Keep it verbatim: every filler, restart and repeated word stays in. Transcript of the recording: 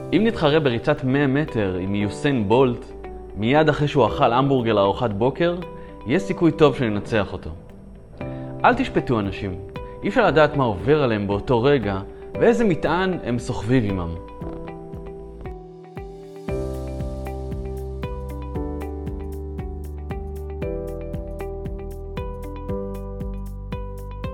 אם נתחרה בריצת מאה מטר עם יוסיין בולט, מיד אחרי שהוא אכל המבורגר לארוחת בוקר, יש סיכוי טוב שננצח אותו. אל תשפטו אנשים, אי אפשר לדעת מה עובר עליהם באותו רגע ואיזה מטען הם סוחבים עימם.